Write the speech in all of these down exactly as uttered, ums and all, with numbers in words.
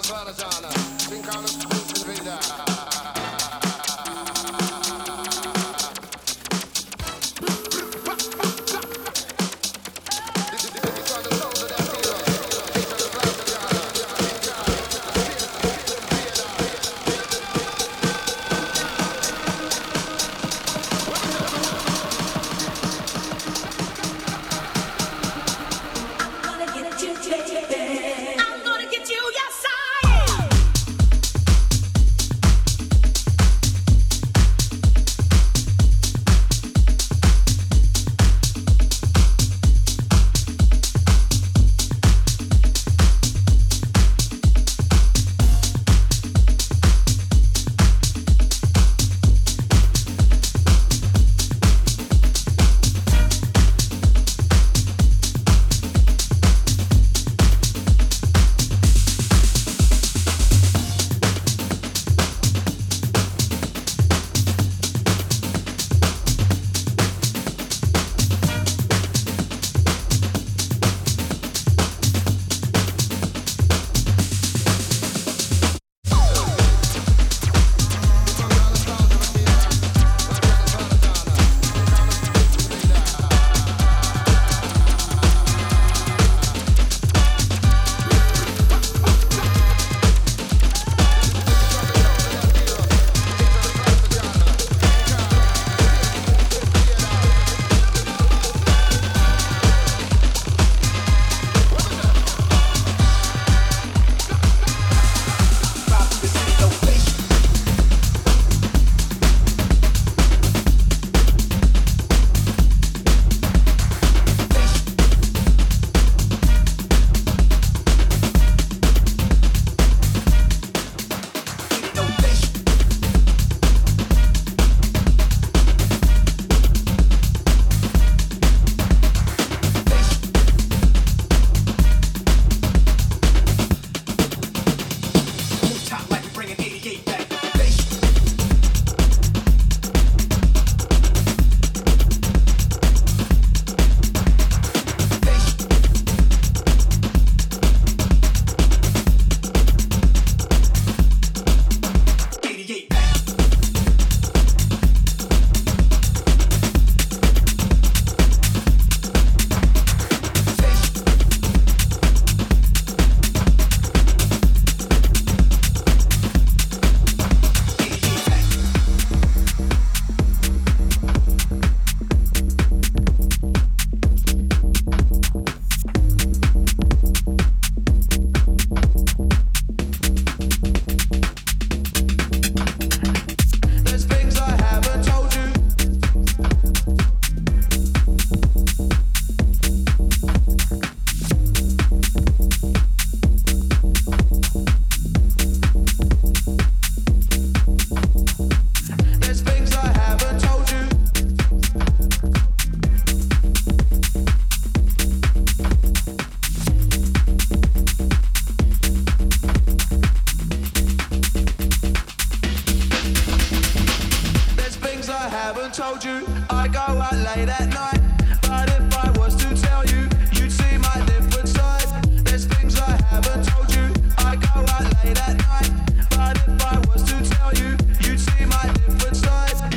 told you I go out late at night, but if I was to tell you, you'd see my different side. There's things I haven't told you. I go out late at night, but if I was to tell you, you'd see my different side.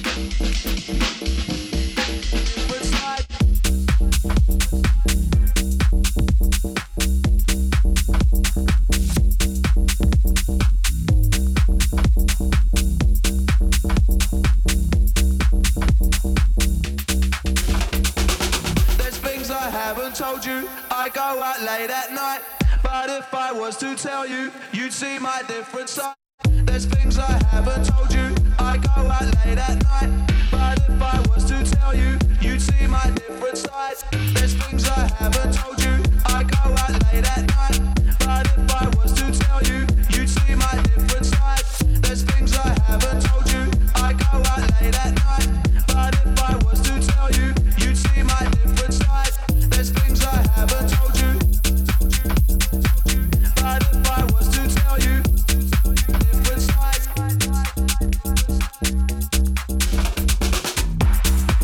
Different side. Told you I go out late at night, but if I was to tell you, you'd see my different side. There's things I haven't told you. I go out late at night, but if I was to tell you, you'd see my different side. There's things I haven't told you. I go out late at night, but if I was to tell you, you'd see my different side. There's things I haven't told you. I go out late at night, but if I was to tell you, you'd see my different side. There's things I haven't told you, but if I was to tell you, different side.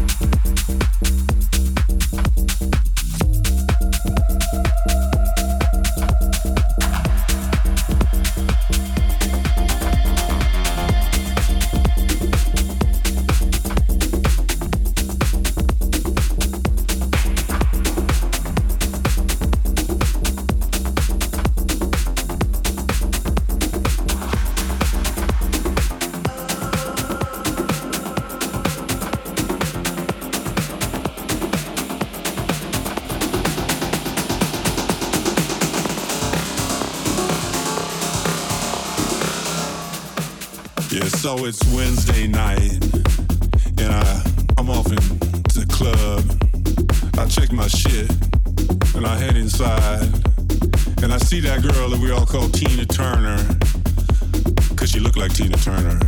so it's Wednesday night, and I, I'm off into the club. I check my shit, and I head inside, and I see that girl that we all call Tina Turner, cause she looked like Tina Turner.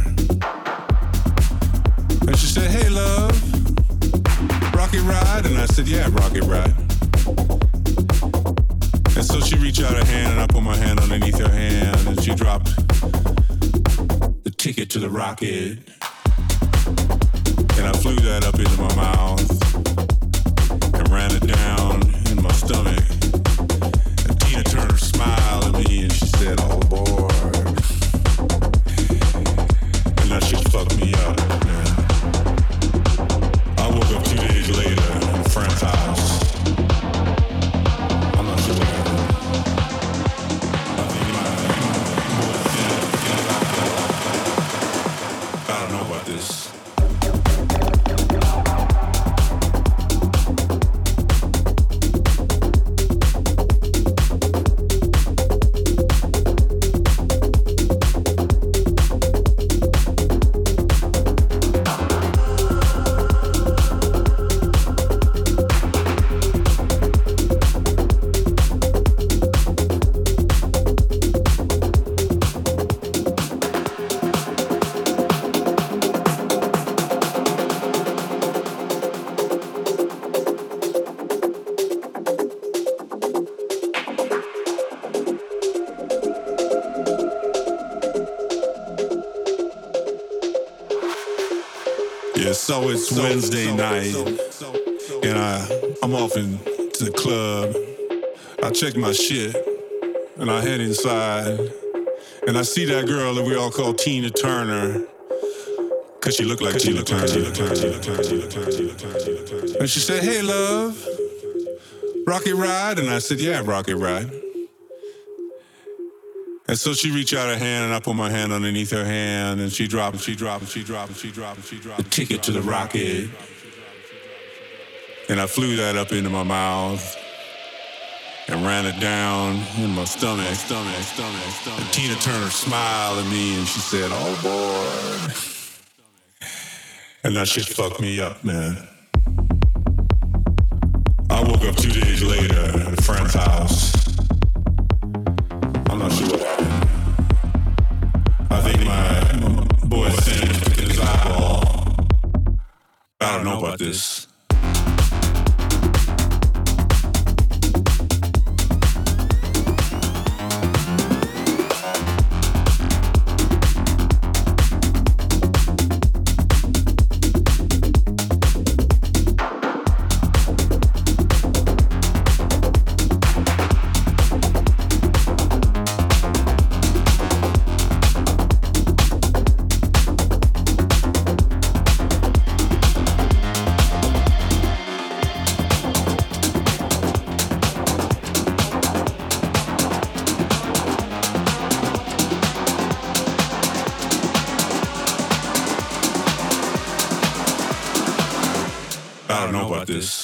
And she said, hey love, rocket ride? And I said, yeah, rocket ride. And so she reached out her hand, and I put my hand underneath her hand, and she dropped the ticket to the rocket. And I flew that up into my mouth and ran it down in my stomach. And Tina Turner smiled at me and she said, all aboard. And that shit fucked me up, man. I woke up two days later in a friend's house. I'm not sure what happened. I think my, I don't know about this. So it's Wednesday night, and I, I'm off into the club. I check my shit, and I head inside, and I see that girl that we all call Tina Turner, cause she looked like Tina Turner. And she said, hey love, rocket ride? And I said, yeah, rocket ride. And so she reached out her hand, and I put my hand underneath her hand, and she dropped, and she dropped, and she dropped, and she dropped, and she dropped the ticket to the rocket. And I flew that up into my mouth and ran it down in my stomach, stomach, stomach, stomach. And Tina Turner smiled at me, and she said, "All aboard." And that shit fucked me up, man. I woke up two days later at a friend's house. I'm not sure what happened. I think my boy Sam was picking his eyeball. I don't know about this. I don't know about this.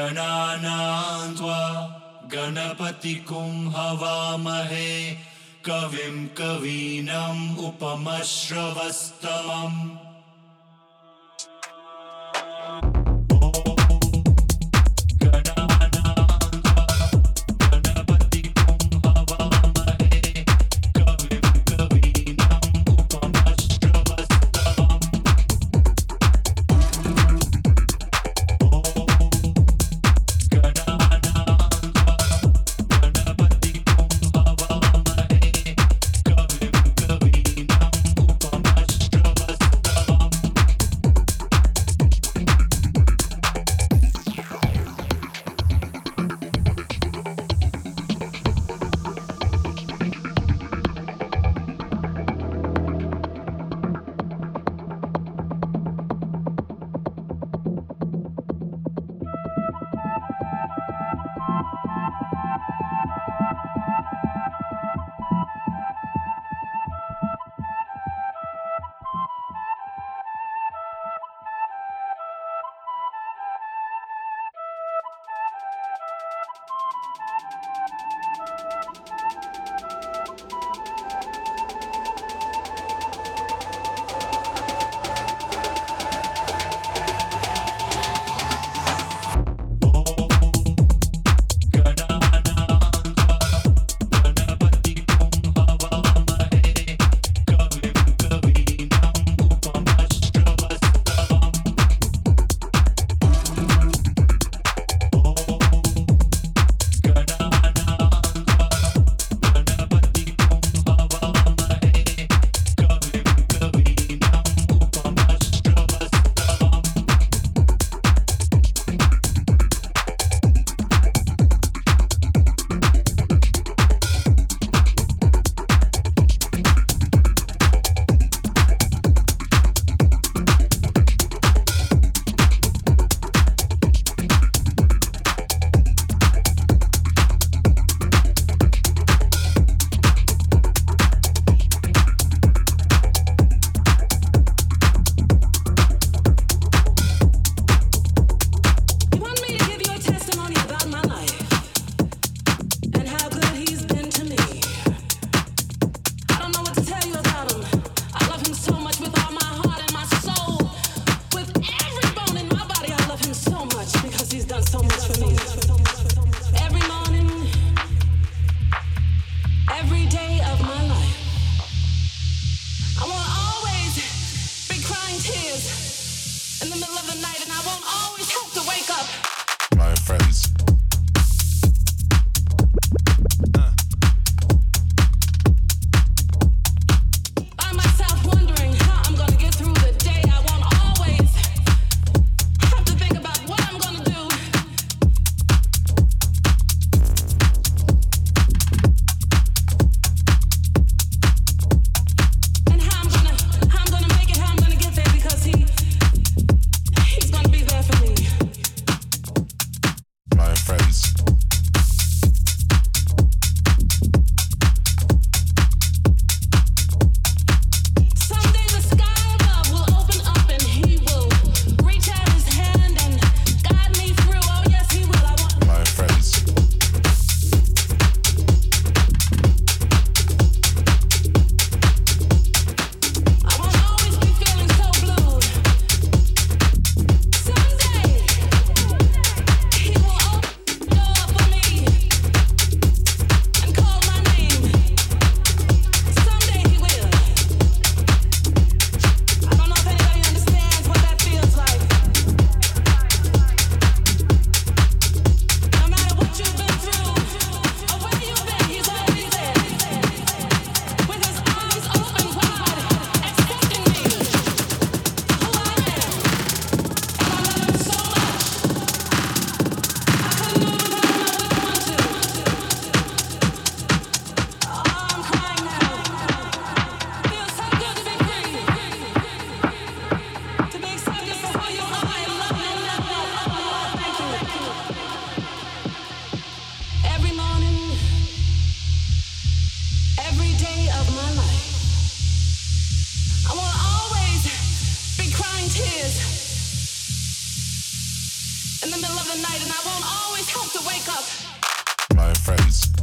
गणानां त्वा गणपतिगुं हवामहे कविं कवीनाम् उपमश्रवस्तमम् and I won't always have to wake up. My friends